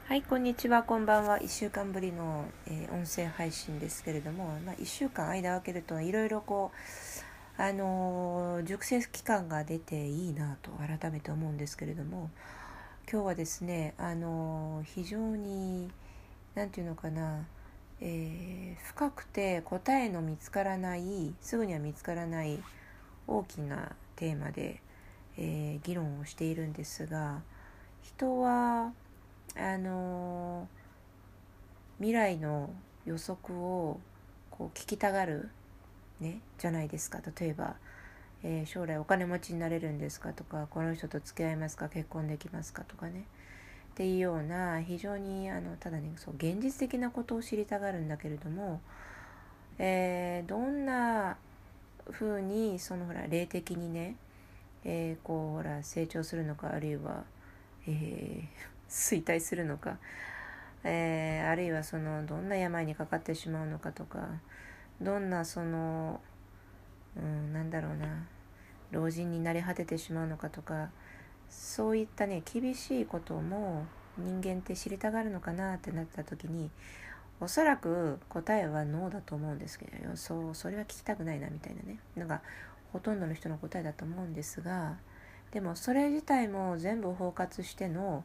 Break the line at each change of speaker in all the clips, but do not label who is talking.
はい、こんにちは、こんばんは。1週間ぶりの、音声配信ですけれども、1週間間を空けるといろいろ熟成期間が出ていいなと改めて思うんですけれども、今日はですね、非常になんていうのかな、深くて答えの見つからないすぐには見つからない大きなテーマで、議論をしているんですが、人は未来の予測を聞きたがる、じゃないですか。例えば、将来お金持ちになれるんですかとか、この人と付き合いますか、結婚できますかとかね、っていうような非常にただね、そう現実的なことを知りたがるんだけれども、どんな風に霊的にね、成長するのか、あるいは、衰退するのか、あるいはどんな病にかかってしまうのかとか、どんななんだろうな、老人になり果ててしまうのかとか、そういったね厳しいことも人間って知りたがるのかなってなった時に、おそらく答えはノーだと思うんですけど、それは聞きたくないなみたいなね、なんかほとんどの人の答えだと思うんですが、でもそれ自体も全部包括しての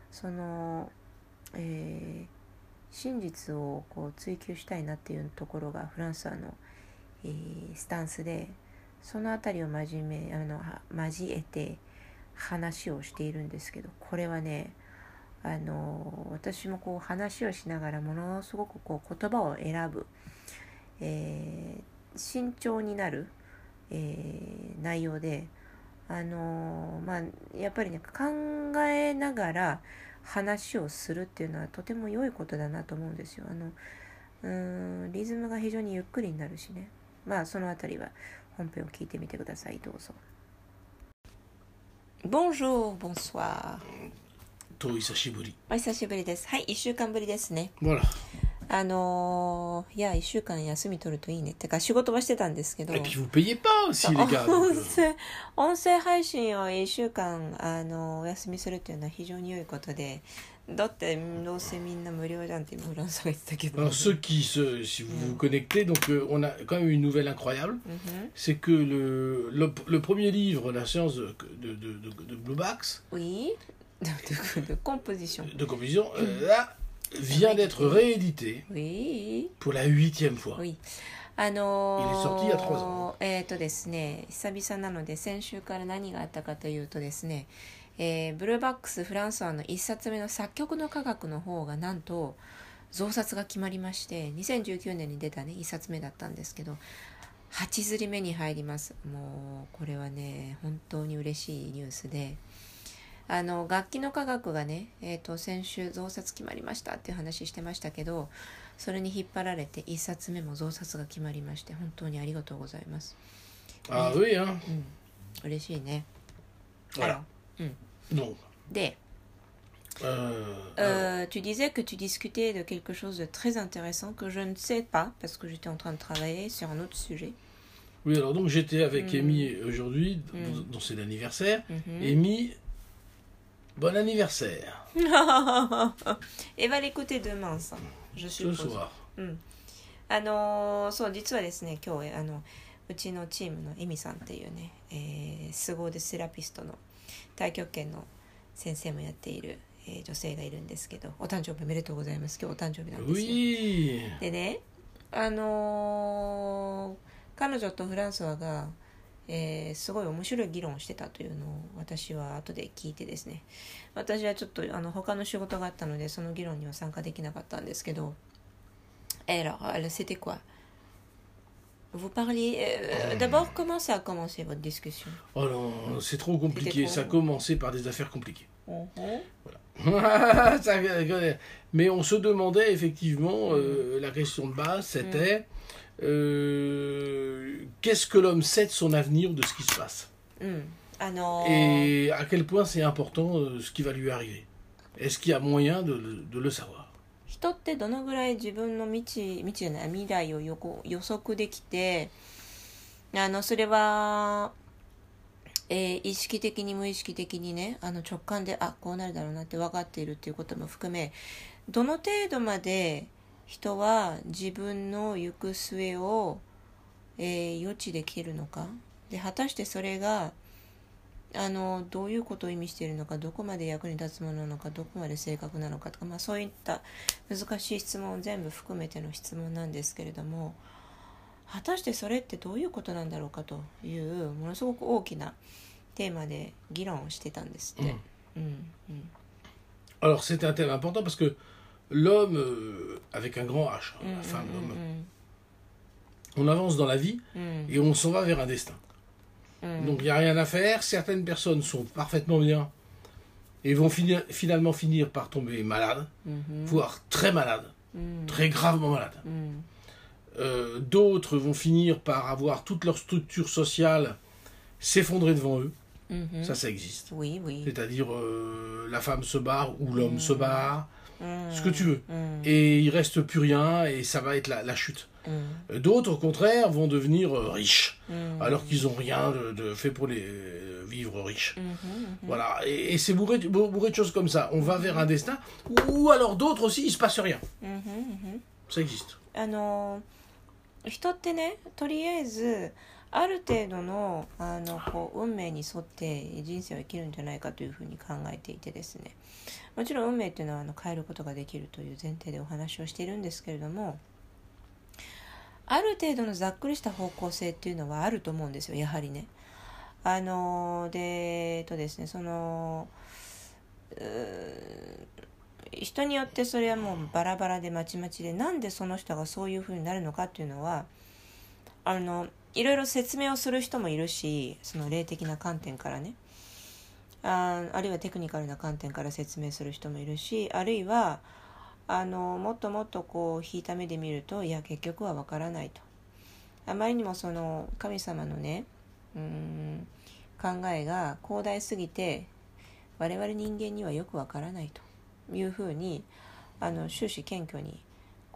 真実を追求したいなっていうところがフランスの、スタンスで、そのあたりを交えて話をしているんですけど、これはね、私も話をしながらものすごく言葉を選ぶ、慎重になる、内容で、やっぱりね、考えながら話をするっていうのはとても良いことだなと思うんですよ。リズムが非常にゆっくりになるしね。そのあたりは本編を聞いてみてください。どうぞ。Bonjour, bonsoir。
お久しぶり。
お久しぶりです。はい、1週間ぶりですね。
Voilà。
いや、1週間休み取るといいね。てか仕事はしてたんですけど。
Et puis vous payez pas aussi les gars。
音声配信を1週間お休みするっていうのは非常に良いことで、だってどうせみんな無料じゃんって今フランスが言ってたけど。
Alors si vous vous connectez, donc on a quand même une nouvelle incroyable, c'est que le premier livre, La science de Blue Box,
oui, de composition,
là, vient d'être réédité,
oui,
pour la 8e fois.
Oui.
Il est sorti il y a 3 ans.
ですね、久々なので先週から何があったかというとですね、ブルーバックス・フランソワの1冊目の作曲の科学の方がなんと増刷が決まりまして、2019年に出たね1冊目だったんですけど、8刷り目に入ります。もうこれはね本当に嬉しいニュースで、楽器の科学がね、先週増刷決まりましたっていう話してましたけど、それに引っ張られて1冊目も増刷が決まりまして、本当にありがとうございます。
Ah oui, hein.
嬉しいね。
Voilà. Donc.
で、tu disais que tu discutais de quelque chose de très intéressant que je ne sais pas parce que j'étais en train de travailler sur un autre sujet.
Oui, alors donc j'étais avec Amy aujourd'hui, dont c'est l'anniversaire. Amy, bon anniversaire.
Et va l'écouter demain, ça, je suppose.
Ce soir.
そう、実はですね、今日うちのチームのエミさんっていうね、凄腕セラピストの太極拳の先生もやっている、女性がいるんですけど、お誕生日おめでとうございます。今日お誕生日なんですよ。
Oui.
でね、彼女とフランソワが、すごい面白い議論をしてたというのを私は後で聞いてですね、私はちょっと他の仕事があったのでその議論には参加できなかったんですけど、alors c'était quoi? Vous parliez d'abord, comment ça a commencé votre discussion?
Oh non, c'est trop compliqué. Ça a commencé par des affaires compliquées. Voilà. Mais on se demandait effectivement, la question de base, c'était qu'est-ce que l'homme sait de son avenir, de ce qui se passe, et à quel point c'est important ce qui va lui arriver. Est-ce qu'il y a moyen de le savoir?
人ってどのぐらい自分の未来を予測できて、それは意識的に無意識的にね、直感でこうなるだろうなって分かっているっていうことも含め、どの程度まで人は自分の行く末を、予知できるのかで、果たしてそれがどういうことを意味しているのか、どこまで役に立つものなのか、どこまで正確なのかとか、そういった難しい質問を全部含めての質問なんですけれども、果たしてそれってどういうことなんだろうかというものすごく大きなテーマで議論をしてたんですって。
Alors c'était un thème important parce que l'homme, avec un grand H, la femme, l'homme, on avance dans la vie et on s'en va vers un destin. Donc il n'y a rien à faire. Certaines personnes sont parfaitement bien et vont finalement finir par tomber malades, voire très malades, très gravement malades. D'autres vont finir par avoir toute leur structure sociale s'effondrer devant eux. Ça existe.
Oui.
C'est-à-dire la femme se barre ou l'homme se barre, ce que tu veux. Et il reste plus rien et ça va être la chute. D'autres, au contraire, vont devenir riches, alors qu'ils n'ont rien de fait pour les vivre riches. Voilà. Et c'est bourré de choses comme ça. On va vers un destin. Ou alors d'autres aussi, il ne se passe rien. Ça existe.
人ってね、とりあえずある程度の運命に沿って人生を生きるんじゃないかというふうに考えていてですね、もちろん運命っていうのは変えることができるという前提でお話をしているんですけれども、ある程度のざっくりした方向性っていうのはあると思うんですよ、やはりね。ですね、人によってそれはもうバラバラでまちまちで、なんでその人がそういう風になるのかっていうのはいろいろ説明をする人もいるし、その霊的な観点からね、あるいはテクニカルな観点から説明する人もいるし、あるいはもっともっと引いた目で見ると、いや結局はわからないと、あまりにもその神様のね考えが広大すぎて我々人間にはよくわからないというふうに終始謙虚に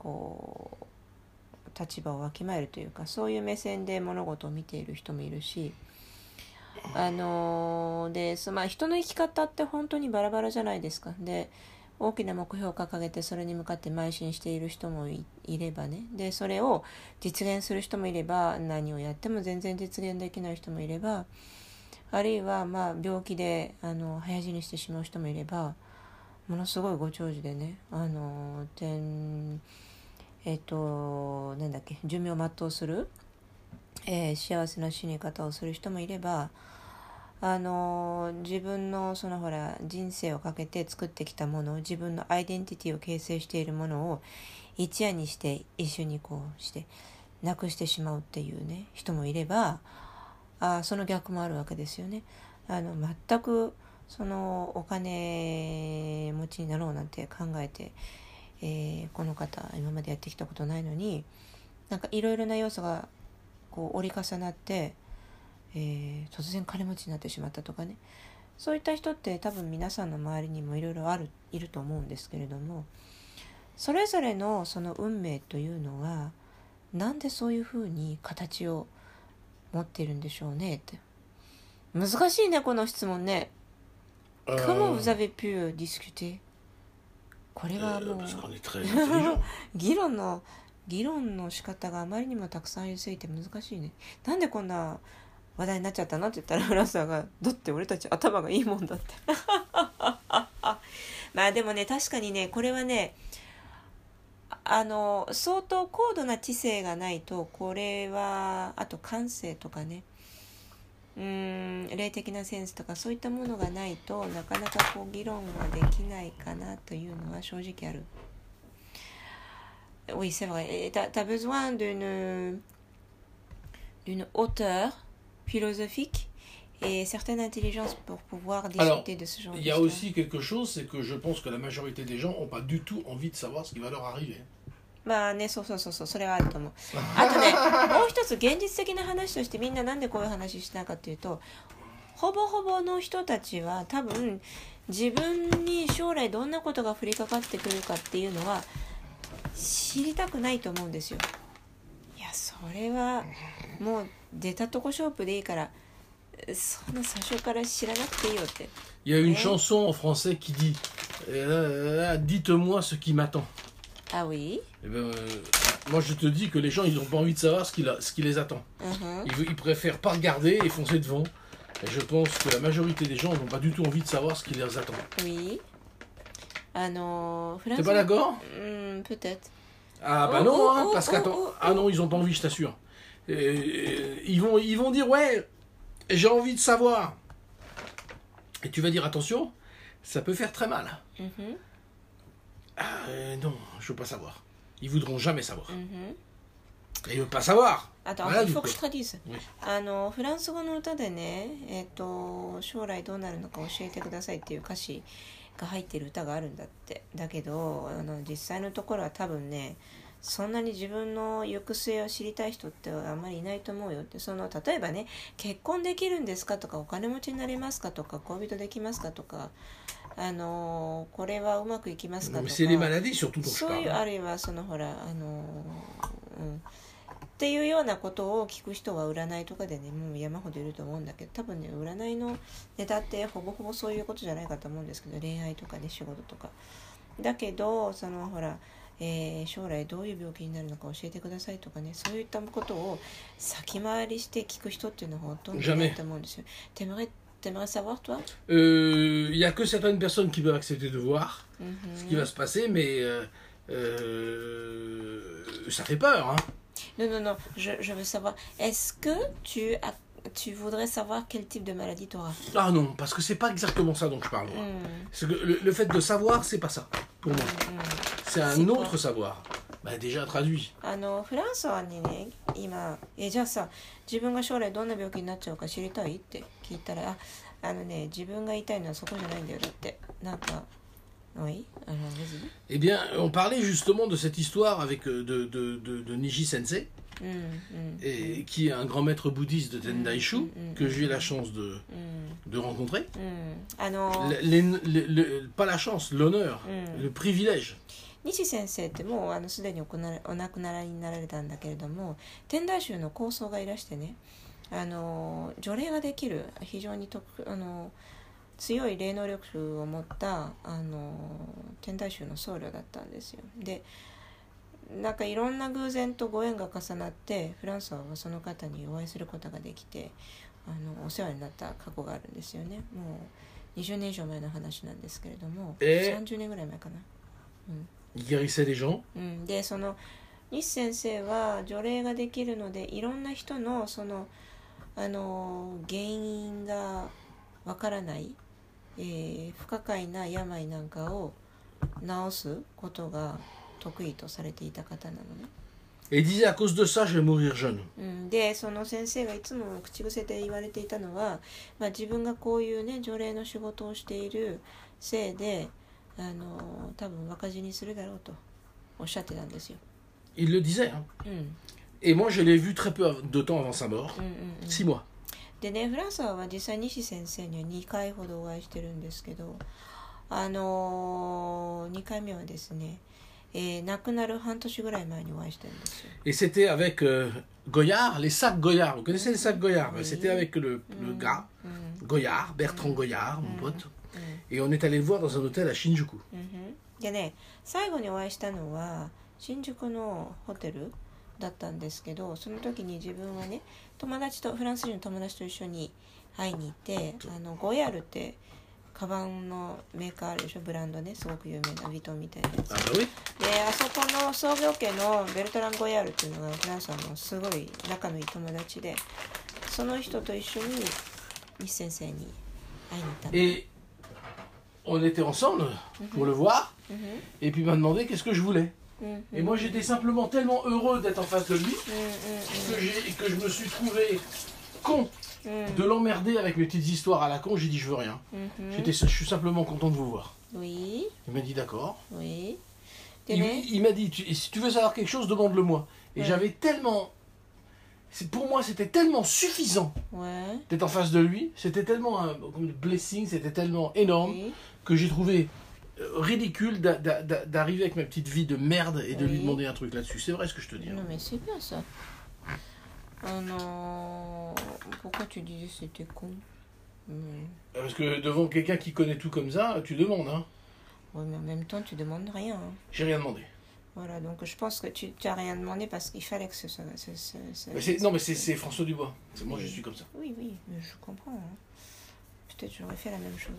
立場をわきまえるというか、そういう目線で物事を見ている人もいるし、人の生き方って本当にバラバラじゃないですか。で、大きな目標を掲げてそれに向かって邁進している人も いればね、でそれを実現する人もいれば、何をやっても全然実現できない人もいれば、あるいは病気で早死にしてしまう人もいれば、ものすごいご長寿でね、寿命を全うする、幸せな死に方をする人もいれば、自分の人生をかけて作ってきたもの、自分のアイデンティティを形成しているものを一夜にして一緒にしてなくしてしまうっていうね人もいれば、その逆もあるわけですよね。全くお金持ちになろうなんて考えて、この方今までやってきたことないのに、いろいろな要素が折り重なって、突然金持ちになってしまったとかね、そういった人って多分皆さんの周りにもいろいろいると思うんですけれども、それぞれのその運命というのはなんでそういうふうに形を持っているんでしょうねって。難しいねこの質問ね。Comment vous avez pu discuter? これはもう議論の仕方があまりにもたくさんありすぎて難しいね。なんでこんな話題になっちゃったのって言ったら、フランスがだって俺たち頭がいいもんだってでもね、確かにね、これはね相当高度な知性がないと、これはあと感性とかね、霊的なセンスとかそういったものがないとなかなか議論はできないかなというのは正直ある。Oui, c'est vrai. T'as besoin d'une hauteur philosophique et certaine intelligence pour pouvoir discuter de ce genre de choses.
Il y a aussi quelque chose, c'est que je pense que la majorité des gens n'ont pas du tout envie de savoir ce qui va leur arriver.
そうそれはあると思う。あとね、もう一つ現実的な話として、みんななんでこういう話したかというと、ほぼほぼの人たちは多分自分に将来どんなことが降りかかってくるかっていうのは知りたくないと思うんですよ。いや、それはもう出たとこ勝負でいいからそんな最初から知らなくていいよって。
Il y a une chanson en français qui dit Dites-moi ce qui m'attend.
Ah oui.
Eh ben, moi je te dis que les gens ils n'ont pas envie de savoir ce qui les attend. Ils préfèrent pas regarder et foncer devant. Et je pense que la majorité des gens n'ont pas du tout envie de savoir ce qui les attend.
Oui.
T'es pas d'accord?
Peut-être.
Ah bah non, hein, parce qu'attends. Ah non, ils ont pas envie, je t'assure. Ils vont dire ouais, j'ai envie de savoir. Et tu vas dire attention, ça peut faire très mal. Non, je veux pas savoir. Ils voudront jamais savoir. Et ils veulent pas savoir.
Attends,
voilà,
il faut que je traduise.
Oui.
フランス語の歌でね、将来どうなるのか教えてくださいっていう歌詞が入ってる歌があるんだって。だけど実際のところは多分ね、そんなに自分の行く末を知りたい人ってあんまりいないと思うよって。例えばね、結婚できるんですかとか、お金持ちになれますかとか、恋人できますかとか、これはうまくいきますかとか、そういう、あるいはほらっていうようなことを聞く人は占いとかでね、もう山ほどいると思うんだけど、多分ね、占いのネタってほぼほぼそういうことじゃないかと思うんですけど、恋愛とかね、仕事とかだけど、ほら将来どういう病気になるのか教えてくださいとかね、そういったことを先回りして聞く人っていうのはほとんどいないと思うんですよ。T'aimerais savoir, toi?
Il y a que certaines personnes qui peuvent accepter de voir ce qui va se passer, mais ça fait peur, hein.
Non, je veux savoir. Est-ce que tu voudrais savoir quel type de maladie tu auras?
Ah non, parce que c'est pas exactement ça dont je parle. C'est que le fait de savoir, c'est pas ça, pour moi. C'est un autre savoir. Bah, déjà traduit.
フランスはね、今、じゃあさ、自分が将来どんな病気になっちゃうか知りたいって聞いたら、自分が言いたいのはそこじゃないんだよ。だって、なんか、oui, alors vas-y.
Eh bien, on parlait justement de cette histoire avec de Nishi Sensei, et, qui est un grand maître bouddhiste de Tendaishu, que j'ai eu la chance de rencontrer. Pas la chance, l'honneur, le privilège.
西先生ってもうすでにお亡くなりになられたんだけれども、天台宗の高僧がいらしてね、除霊ができる非常に強い霊能力を持った天台宗の僧侶だったんですよ。で、なんかいろんな偶然とご縁が重なってフランソワはその方にお会いすることができてお世話になった過去があるんですよね。もう20年以上前の話なんですけれども、30年ぐらい前かな。
Il guérissait des gens.
で、西先生は除霊ができるので、いろんな人の原因がわからない、不可解な病なんかを治すことが得意とされていた方なのね。
Et disait à cause de ça, je vais mourir jeune.
で、その先生がいつも口癖で言われていたのは、自分がこういうね除霊の仕事をしているせいで多分若死にするだろうとおっしゃってたんですよ。
Il le disait, hein. Et moi, je l'ai vu très peu de temps avant sa mort, 6 mois.
でね、フランスは実際西先生には2回ほどお会いしてるんですけど、2回目はですね、亡くなる半年ぐらい前にお会いしてるんですよ。
Et c'était avec Goyard, les sacs Goyard. Vous connaissez les sacs Goyard? C'était avec le gars, Goyard, Bertrand Goyard, mon pote. Et on est allé le voir dans un hôtel à Shinjuku.
でね、最後にお会いしたのは新宿のホテルだったんですけど、その時に自分はね、フランス人の友達と一緒に会いに行って、ゴヤールってカバンのメーカーあるでしょ、ブランドね、すごく有名なヴィトンみたいなやつ。で、あそこの創業家のベルトラン・ゴヤールっていうのがフランスのすごい仲のいい友達で、その人と一緒に西先生に会いに行ったの。
On était ensemble pour le voir, et puis il m'a demandé qu'est-ce que je voulais. Et moi j'étais simplement tellement heureux d'être en face de lui que je me suis trouvé con de l'emmerder avec mes petites histoires à la con. J'ai dit je veux rien. Je suis simplement content de vous voir.
Oui.
Il m'a dit d'accord.
Oui.
Il m'a dit si tu veux savoir quelque chose, demande-le-moi. Et j'avais tellement... Pour moi, c'était tellement suffisant d'être en face de lui. C'était tellement un blessing, c'était tellement énorme que j'ai trouvé ridicule d'arriver avec ma petite vie de merde et de lui demander un truc là-dessus. C'est vrai ce que je te dis.
Non, mais c'est bien ça. Pourquoi tu disais c'était con?
Parce que devant quelqu'un qui connaît tout comme ça, tu demandes, hein.
Oui, mais en même temps, tu demandes rien. Hein.
J'ai rien demandé.
Voilà, donc je pense que tu n'as rien demandé parce qu'il fallait que ce soit...
Non, mais c'est François Dubois. Moi, je suis comme ça.
Oui, mais je comprends. Hein. Peut-être j'aurais fait la même chose.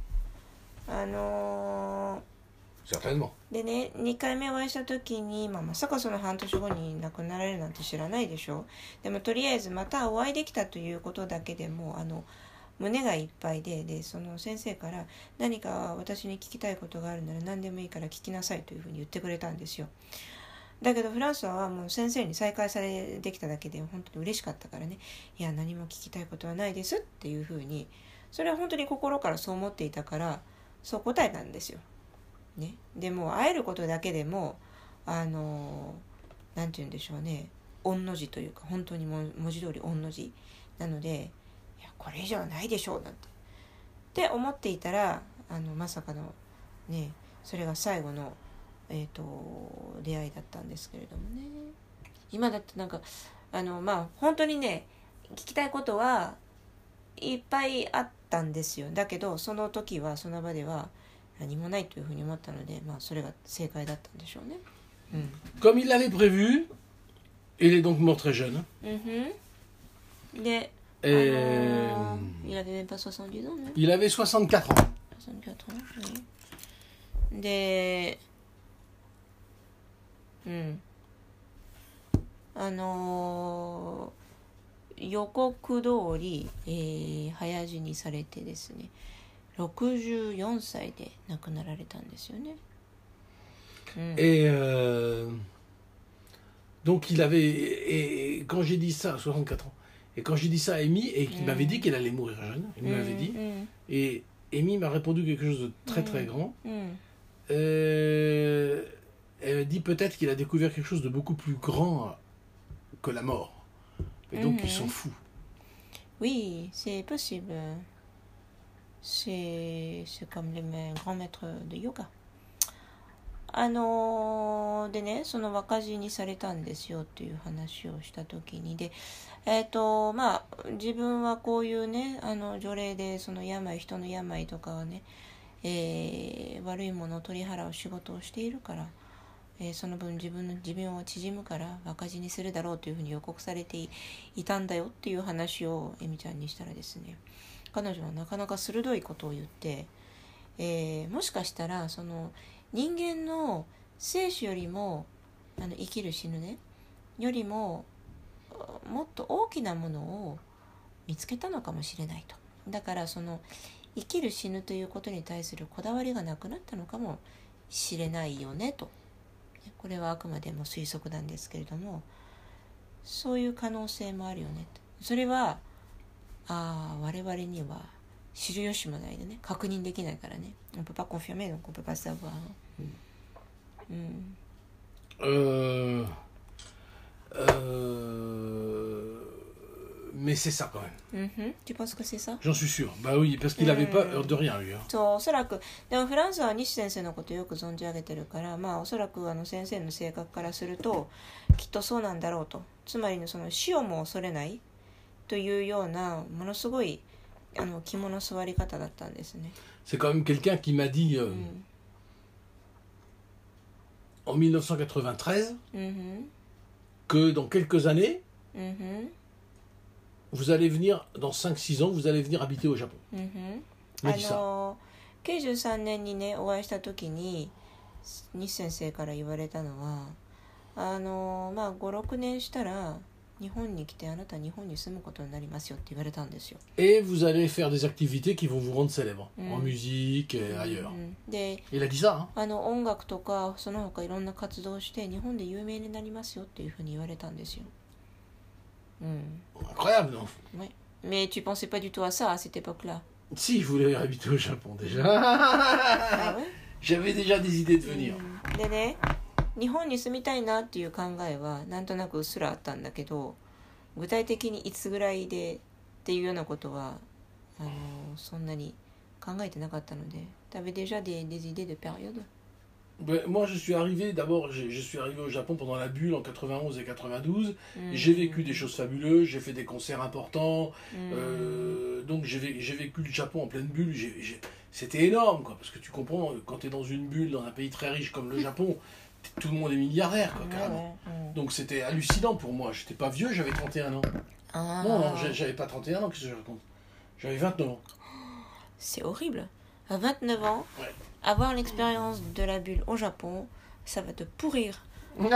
Certainement.
でね、2回目お会いした時に、まさかその半年後に亡くなられるなんて知らないでしょ。でもとりあえずまたお会いできたということだけでも胸がいっぱいで、その先生から何か私に聞きたいことがあるなら何でもいいから聞きなさいというふうに言ってくれたんですよ。だけどフランスはもう先生に再会されできただけで本当に嬉しかったからね、いや何も聞きたいことはないですっていうふうに、それは本当に心からそう思っていたからそう答えたんですよ。ね、でも会えることだけでもなんて言うんでしょうね、御の字というか本当に文字通り御の字なので、いやこれ以上ないでしょうなんて思っていたらまさかのね、それが最後の出会いだったんですけれどもね。今だってなんか本当にね聞きたいことはいっぱいあったんですよ。だけどその時はその場では何もないというふうに思ったので、それが正解だったんでしょうね。
Comme il l'avait prévu, il est donc mort très jeune.
De, il avait même pas 70 ans, non?
Il avait 64 ans.
64 ans, oui. De, 予告通り、早死にされてですね、64歳で亡くなられたんですよね。
Et donc il avait, et quand j'ai dit ça, 64 ans, et quand j'ai dit ça à Amy, et qu'il m'avait dit qu'elle allait mourir jeune, il me l'avait dit, et Amy m'a répondu quelque chose de très très grand. Elle m'a dit peut-être qu'il a découvert quelque chose de beaucoup plus grand que la mort, et donc il s'en fout.
Oui, c'est possible. C'est comme les grands maîtres de yoga. でね、その若死にされたんですよっていう話をした時にで、自分はこういうね除霊でその人の病とかはね、悪いものを取り払う仕事をしているから、その分自分の寿命は縮むから若死にするだろうというふうに予告されて いたんだよっていう話をエミちゃんにしたらですね、彼女はなかなか鋭いことを言って、もしかしたらその人間の生死よりも生きる死ぬねよりももっと大きなものを見つけたのかもしれないと。だからその生きる死ぬということに対するこだわりがなくなったのかもしれないよねと。これはあくまでも推測なんですけれども、そういう可能性もあるよねと。それは我々には知る由もないでね、確認できないからね。On peut pas confirmer, donc on peut pas savoir.
Mais c'est ça quand même.
Tu penses que c'est ça?
J'en suis sûr. Bah oui, parce qu'il n'avait pas de rien lui.
そう、おそらく。でもフランスは西先生のことをよく存じ上げてるから、おそらく先生の性格からするときっとそうなんだろうと。つまりその死をも恐れないというようなものすごい肝の座り方だったんですね。
C'est quand même quelqu'un qui m'a dit en 1993 que dans quelques années vous allez venir, dans 5-6 ans, vous allez venir habiter au Japon. Il m'a dit ça.
93年にねお会いした時に西先生から言われたのは5-6年したら日本に来てあなた日本に住むことになりますよって言われたんですよ。
Et vous allez faire des activités qui vont vous rendre célèbre en musique et ailleurs.
で、
il a dit ça.
音楽とかその他いろんな活動をして日本で有名になりますよっていうふうに言われたんですよ。
Incroyable, non?
Oui. Mais tu pensais pas du tout à ça à cette époque-là?
Si, je voulais habiter au Japon déjà.
Ah ouais?
J'avais déjà des idées de venir.
でね、日本に住みたいなっていう考えはなんとなくうっすらあったんだけど、具体的にいつぐらいでっていうようなことはそんなに考えてなかったので。T'avais déjà des idées de période?
Ben, moi, je suis arrivé, d'abord, je suis arrivé au Japon pendant la bulle en 91 et 92.
Mm.
J'ai vécu des choses fabuleuses, j'ai fait des concerts importants.
Mm.
Donc, j'ai vécu le Japon en pleine bulle. C'était énorme, quoi, parce que tu comprends, quand tu es dans une bulle, dans un pays très riche comme le Japon, tout le monde est milliardaire, quoi, carrément. Donc, c'était hallucinant pour moi. J'étais pas vieux, j'avais 31 ans.
Ah.
Non, non, j'avais pas 31 ans, qu'est-ce que je raconte? J'avais 29 ans.
C'est horrible. À 29 ans,
Ouais.
avoir l'expérience de la bulle au Japon, ça va te pourrir. Vraiment.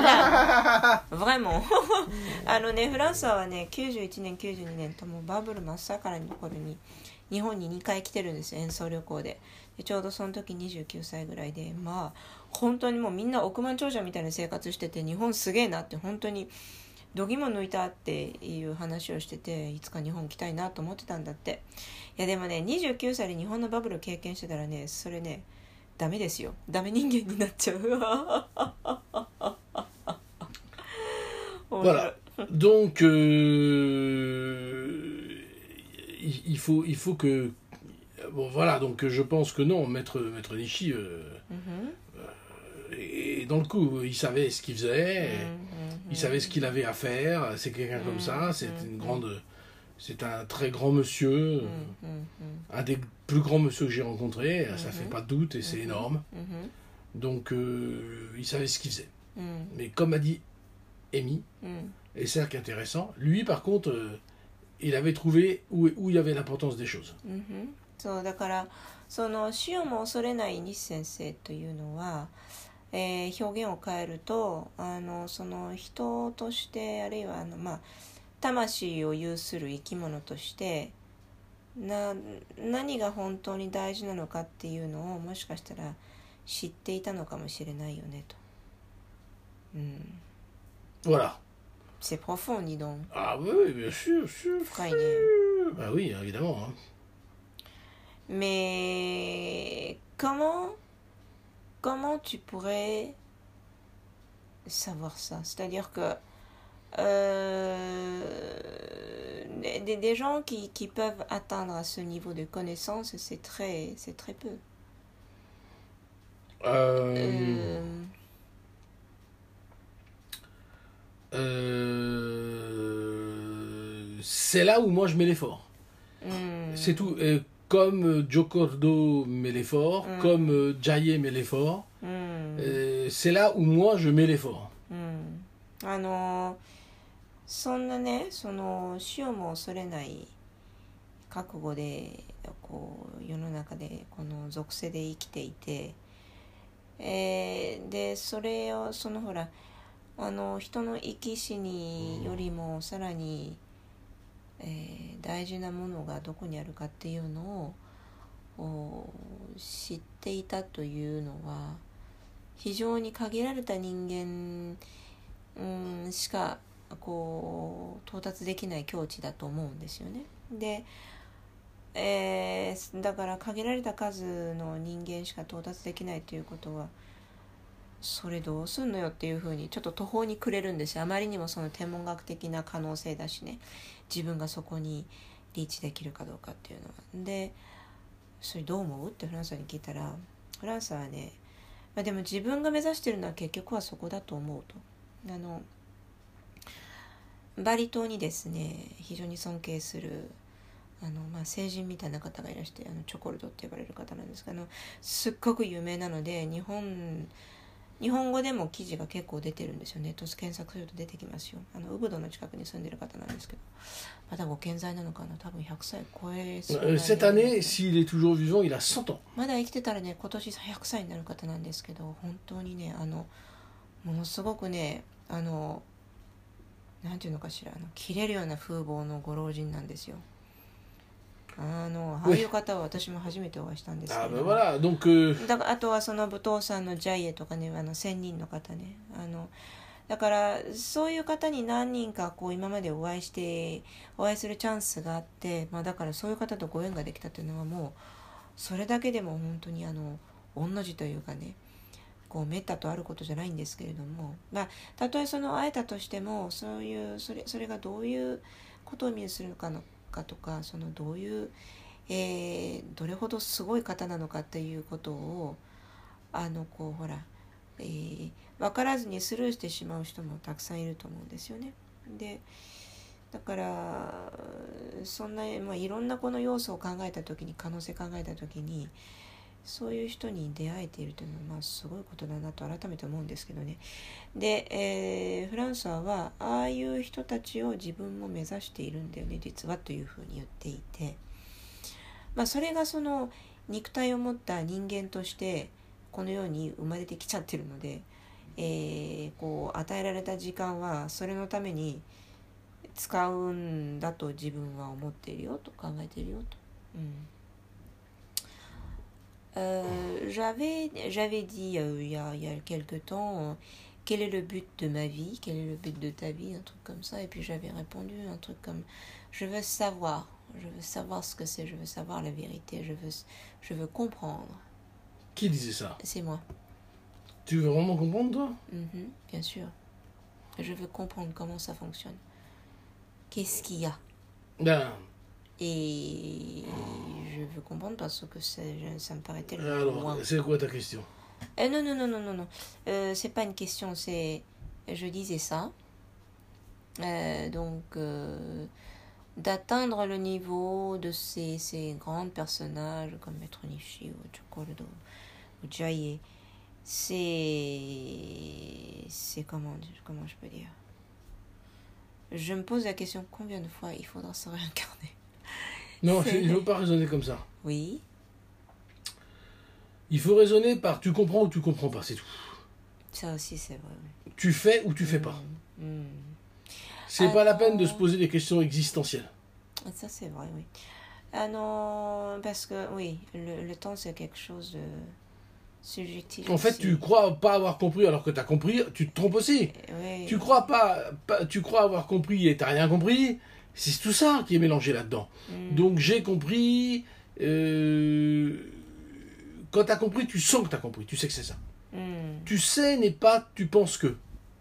フランスはね、91年、92年ともバブル真っ盛りの頃に日本に2回来てるんですよ、演奏旅行で。ちょうどその時29歳ぐらいで、まあ本当にもうみんな億万長者みたいな生活してて、日本すげえなって本当に度肝抜いたっていう話をしてて、いつか日本来たいなと思ってたんだって。いやでもね、29歳で日本のバブルを経験してたらね、それねダメですよ。ダメ人間になっちゃう。
Voilà. Donc, il faut que... Bon, voilà, donc je pense que non, Maître Nishi est dans le coup. Il savait ce qu'il faisait, il savait ce qu'il avait à faire. C'est quelqu'un comme ça, c'est un très grand monsieur, un des plus grands monsieur que j'ai rencontré, ça fait pas de doute et c'est énorme. Donc, il savait ce qu'il faisait. Mais comme a dit Amy, et c'est ça qui est intéressant, lui par contre, il avait trouvé où il y avait l'importance des choses.
そうだからその死をも恐れない西先生というのは、表現を変えるとその人としてあるいは魂を有する生き物として何が本当に大事なのかっていうのをもしかしたら知っていたのかもしれないよねと。
Voilà.
C'est profond, dis donc.
Ah oui, bien sûr, sûr. Bah oui, évidemment. Hein.
Mais comment tu pourrais savoir ça? C'est-à-dire que des gens qui peuvent atteindre à ce niveau de connaissance, c'est très peu.
C'est là où moi je mets l'effort. C'est tout. Comme Joe Cordo met l'effort, comme Jaye met l'effort, c'est là où moi je mets l'effort.
そんなね、その死をも恐れない覚悟でこう世の中でこの属性で生きていて、でそれをそのほら人の生き死によりもさらに、大事なものがどこにあるかっていうのを知っていたというのは非常に限られた人間、しかこう到達できない境地だと思うんですよね。で、だから限られた数の人間しか到達できないということはそれどうすんのよっていうふうにちょっと途方に暮れるんですよ。あまりにもその天文学的な可能性だしね、自分がそこにリーチできるかどうかっていうのは。でそれどう思うってフランスに聞いたら、フランスはね、でも自分が目指してるのは結局はそこだと思うと。バリ島にですね非常に尊敬する聖人みたいな方がいらして、チョコルドって呼ばれる方なんですが、すっごく有名なので日本語でも記事が結構出てるんですよね。検索すると出てきますよ。ウブドの近くに住んでる方なんですけど、まだご健在なのかな、多分100歳超えそうな、ね、
Cette année, s'il est toujours vivant, il a 100 ans.
まだ生きてたらね、今年100歳になる方なんですけど、本当にねものすごくねなんていうのかしら、切れるような風貌のご老人なんですよ。ああいう方は私も初めてお会いしたんですけど、
voilà. Donc,
だからあとはその武藤さんのジャイエとかね、仙人の方ね、だからそういう方に何人かこう今までお会いするチャンスがあって、だからそういう方とご縁ができたというのはもうそれだけでも本当に御の字というかね、こうめったとあることじゃないんですけれども、たとえその会えたとしてもそれがどういうことを意味するのかとか、そのどういう、どれほどすごい方なのかっていうことをこうほら分からずにスルーしてしまう人もたくさんいると思うんですよね。でだからそんな、いろんなこの要素を考えた時に、可能性考えた時に、そういう人に出会えているというのはすごいことだなと改めて思うんですけどね。で、フランソワはああいう人たちを自分も目指しているんだよね実はというふうに言っていて、それがその肉体を持った人間としてこの世に生まれてきちゃってるので、こう与えられた時間はそれのために使うんだと自分は思っているよと考えているよと。j'avais dit il y a quelque temps quel est le but de ma vie, quel est le but de ta vie, un truc comme ça, et puis j'avais répondu un truc comme je veux savoir ce que c'est, je veux savoir la vérité, je veux comprendre.
Qui disait ça?
C'est moi.
Tu veux vraiment comprendre, toi?
Bien sûr. Je veux comprendre comment ça fonctionne. Qu'est-ce qu'il y a? Et je veux comprendre parce que ça me paraît tellement loin.
Alors, c'est quoi ta question?
Non. C'est pas une question, c'est... Je disais ça. D'atteindre le niveau de ces grands personnages comme Maître Nishi ou Chokordo ou Jaye, c'est comment je peux dire? Je me pose la question combien de fois il faudra se réincarner.
Non, il ne faut pas raisonner comme ça.
Oui.
Il faut raisonner par tu comprends ou tu comprends pas, c'est tout.
Ça aussi, c'est vrai. Oui.
Tu fais ou tu fais pas. C'est pas la peine de se poser des questions existentielles.
Ça, c'est vrai, oui. Parce que, oui, le temps, c'est quelque chose de subjectif.
En fait, tu crois pas avoir compris alors que tu as compris, tu te trompes aussi.
Oui.
Tu crois tu crois avoir compris et tu n'as rien compris. C'est tout ça qui est mélangé là-dedans. Donc j'ai compris. Quand tu as compris, tu sens que tu as compris. Tu sais que c'est ça. Tu sais n'est pas tu penses que.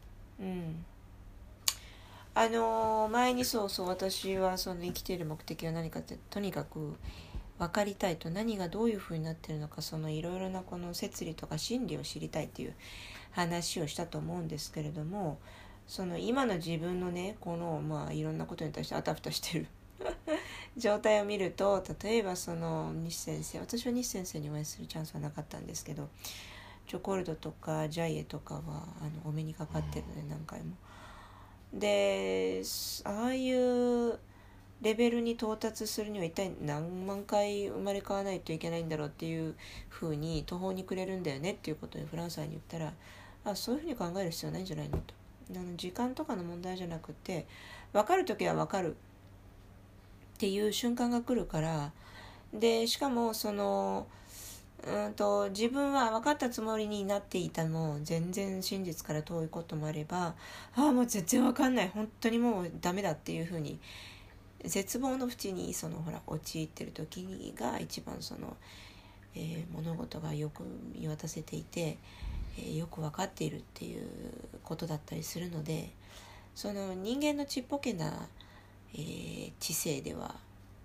前にそう私はその生きている目的は何かってとにかく分かりたいと、何がどういうふうになっているのか、そのいろいろなこの摂理とか真理を知りたいという話をしたと思うんですけれども、その今の自分のねこのいろんなことに対してあたふたしてる状態を見ると、例えばその西先生、私は西先生にお会いするチャンスはなかったんですけど、チョコルドとかジャイエとかはお目にかかってるので何回も。でああいうレベルに到達するには一体何万回生まれ変わらないといけないんだろうっていうふうに途方に暮れるんだよねっていうことをフランスに言ったら、そういうふうに考える必要ないんじゃないのと。時間とかの問題じゃなくて、分かるときは分かるっていう瞬間が来るから、でしかもその自分は分かったつもりになっていたの全然真実から遠いこともあれば、もう全然分かんない、本当にもうダメだっていうふうに絶望の淵に陥ってる時が一番物事がよく見渡せていて、よく分かっているっていうことだったりするので、その人間のちっぽけな、知性では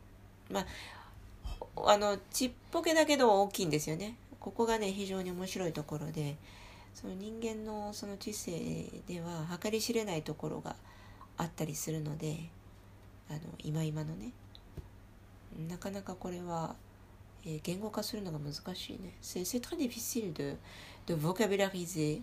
ちっぽけだけど大きいんですよね。ここがね非常に面白いところで、その人間のその知性では計り知れないところがあったりするので、今のねなかなかこれは、言語化するのが難しいね。C'est très difficile de vocabulariser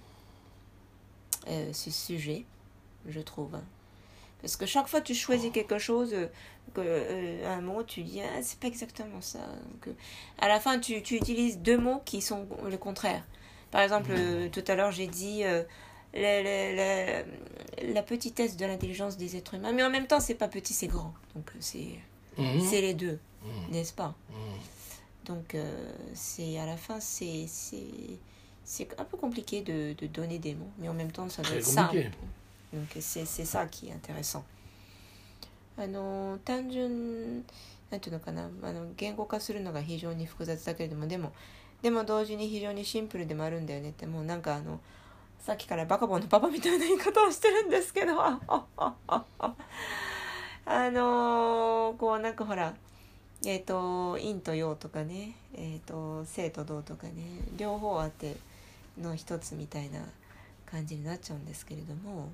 ce sujet, je trouve. Parce que chaque fois tu choisis quelque chose, un mot, tu dis c'est pas exactement ça. Donc, à la fin tu utilises deux mots qui sont le contraire. Par exemple, tout à l'heure j'ai dit la petitesse de l'intelligence des êtres humains, mais en même temps c'est pas petit, c'est grand. Donc c'est les deux, n'est-ce pas? Donc c'est à la fin c'est un peu compliqué de donner des mots, mais en même temps ça doit être simple. Donc c'est ça qui est intéressant. 単純なんていうのかな、言語化するのが非常に複雑だけれども、でも同時に非常にシンプルでもあるんだよねって、もうなんかさっきからバカボンのパパみたいな言い方をしてるんですけどこうなんかほら陰と陽とかね、静と動とかね両方あっての一つみたいな感じになっちゃうんですけれども、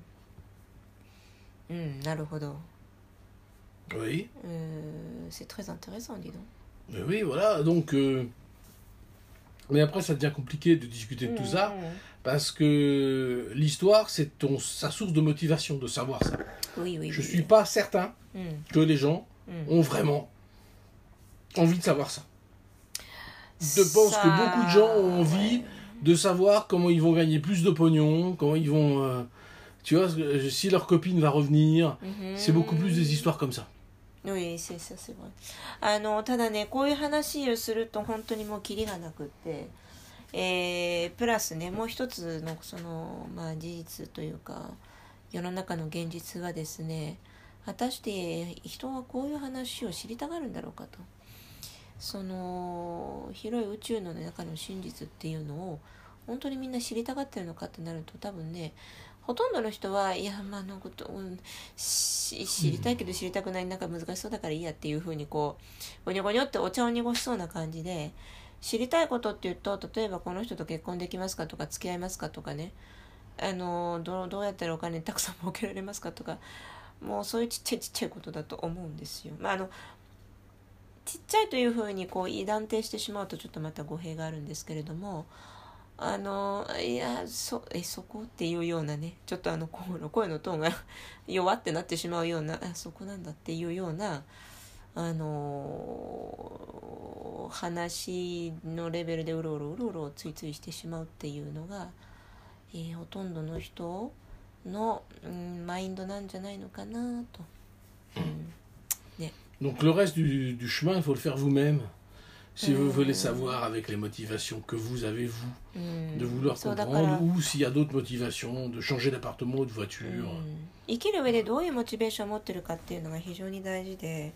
なるほど。
Oui.
C'est très intéressant, dis donc.
Mais oui, voilà, donc... Mais après, ça devient compliqué de discuter de tout ça, parce que l'histoire, c'est sa source de motivation, de savoir ça.
Oui, oui.
Je ne suis pas certain que les gens ont vraiment envie de savoir ça. Je pense que beaucoup de gens ont envie de savoir comment ils vont gagner plus de pognon, comment ils vont... tu vois, si leur copine va revenir, c'est beaucoup plus des histoires comme ça.
Oui, c'est ça, c'est vrai. ただね、こういう話をすると本当にもうキリがなくって、プラスね、もう一つのその、事実というか、世の中の現実はですね、果たして人はこういう話を知りたがるんだろうかと。その広い宇宙の中の真実っていうのを本当にみんな知りたがってるのかってなると、多分ね、ほとんどの人はいやのこと、知りたいけど知りたくない、なんか難しそうだからいいやっていう風にこうゴニョゴニョってお茶を濁しそうな感じで、知りたいことっていうと、例えばこの人と結婚できますかとか付き合いますかとかね、どうやったらお金たくさん儲けられますかとか、もうそういうちっちゃいことだと思うんですよ。ちっちゃいという風にこう断定してしまうとちょっとまた語弊があるんですけれども、いやそこっていうようなね、ちょっと声のトーンが弱ってなってしまうような、そこなんだっていうような話のレベルでうろうろついついしてしまうっていうのが、ほとんどの人の、マインドなんじゃないのかなと、ね。
Donc le reste du chemin, il faut le faire vous-même. Si vous voulez savoir avec les motivations que vous avez, vous, de vouloir comprendre, ou s'il y a d'autres motivations, de changer d'appartement ou de voiture.
生きる上でどういうモチベーションを持ってるかっていうのが非常に大事で、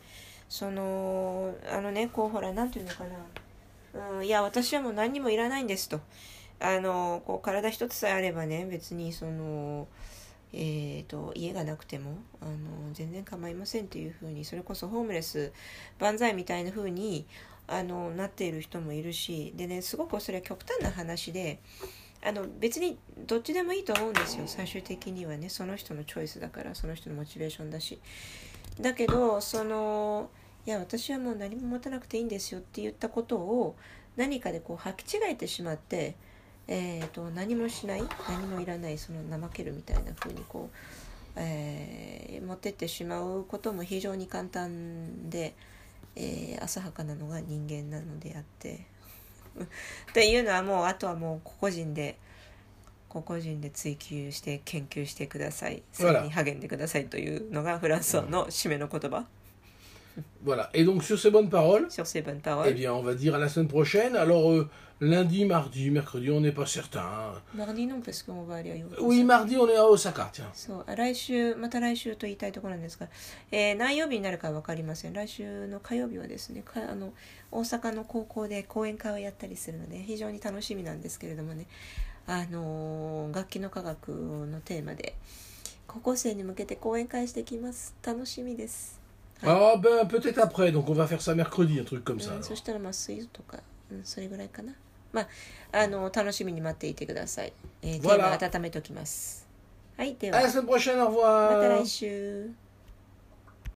こうほら、なんていうのかな、いや私はもう何にもいらないんですと、こう体一つさえあればね、別に家がなくても全然構いませんっていう風に、それこそホームレス万歳みたいな風になっている人もいるし、でね、すごくそれは極端な話で、別にどっちでもいいと思うんですよ、最終的にはね。その人のチョイスだから、その人のモチベーションだし。だけどいや私はもう何も持たなくていいんですよって言ったことを何かでこう履き違えてしまって、何もしない、何もいらない、怠けるみたいな風にこう、持ってってしまうことも非常に簡単で、浅はかなのが人間なのであってっていうのはもう、あとはもう個々人で追求して研究してください、それに励んでくださいというのがフランス語の締めの言葉。
Voilà. Et donc sur ces bonnes paroles,
eh
bien on va dire à la semaine prochaine. Alors lundi, mardi, mercredi, on n'est pas certain.
Mardi non, parce qu'on va aller à Osaka.
Oui, mardi on est à Osaka, tiens.
そう、また来週と言いたいところなんですが、何曜日になるか分かりません。来週の火曜日はですね、大阪の高校で講演会をやったりするので非常に楽しみなんですけれどもね、楽器の科学のテーマで高校生に向けて講演会してきます。楽しみです。
Ah ben peut-être après, donc on va faire ça mercredi, un truc comme ça.
そしたら水曜とか、それぐらいかな。楽しみに待っていてください。テーマ温めておきます。はい、では。
À la semaine prochaine, au revoir.
また来週。